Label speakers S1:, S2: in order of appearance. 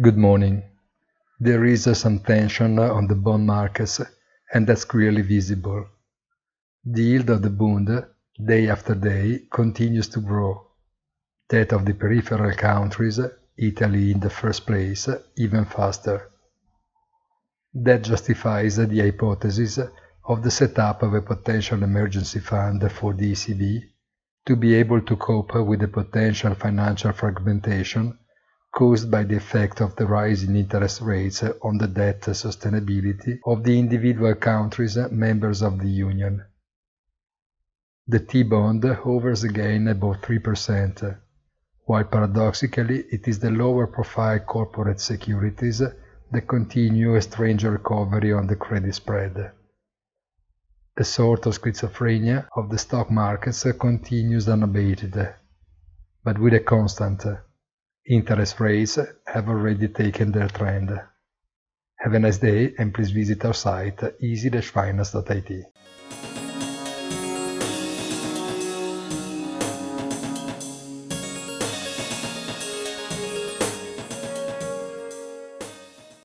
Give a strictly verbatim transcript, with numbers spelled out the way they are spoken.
S1: Good morning. There is uh, some tension uh, on the bond markets, and that's clearly visible. The yield of the Bund, day after day, continues to grow. That of the peripheral countries, Italy in the first place, even faster. That justifies the hypothesis of the setup of a potential emergency fund for the E C B to be able to cope with the potential financial fragmentation caused by the effect of the rise in interest rates on the debt sustainability of the individual countries members of the Union. The T-bond hovers again above three percent, while paradoxically it is the lower-profile corporate securities that continue a strange recovery on the credit spread. A sort of schizophrenia of the stock markets continues unabated, but with a constant. Interest rates have already taken their trend. Have a nice day and please visit our site easy dash finance dot I T.